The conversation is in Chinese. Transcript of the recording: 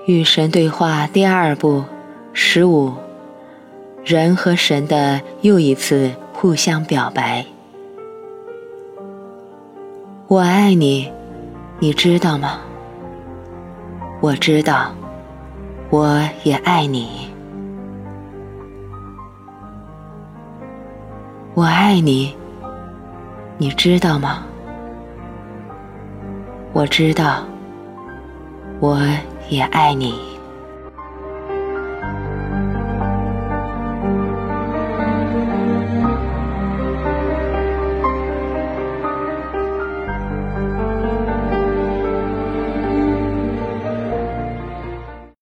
与神对话第2部15，人和神的又一次互相表白。我爱你，你知道吗？我知道，我也爱你。我爱你，你知道吗？我知道，我也爱你。